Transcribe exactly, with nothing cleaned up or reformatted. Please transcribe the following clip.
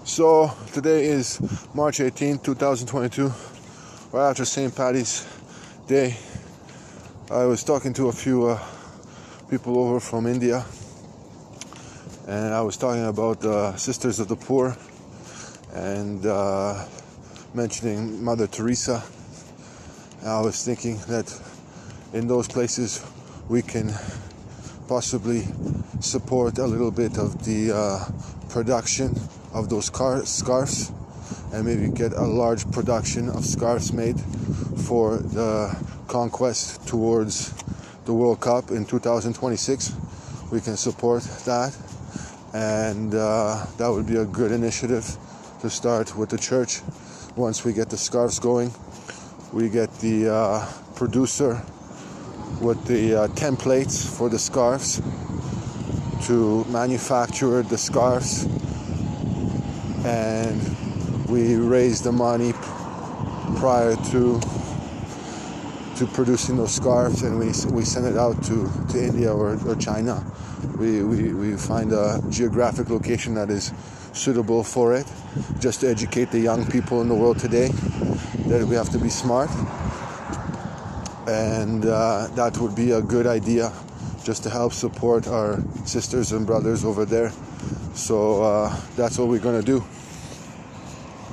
So today is March eighteenth, twenty twenty-two, right after Saint Paddy's Day. I was talking to a few uh, people over from India, and I was talking about the Sisters of the Poor and uh, mentioning Mother Teresa. And I was thinking that in those places we can possibly support a little bit of the uh, production of those car- scarves and maybe get a large production of scarves made for the conquest towards the World Cup in two thousand twenty-six. We can support that, and uh, that would be a good initiative to start with the church. Once we get the scarves going, we get the uh, producer with the uh, templates for the scarves to manufacture the scarves, and we raise the money prior to to producing those scarves, and we we send it out to, to India or, or China. We, we we find a geographic location that is suitable for it, just to educate the young people in the world today that we have to be smart, and uh, that would be a good idea, just to help support our sisters and brothers over there. So uh, that's what we're going to do.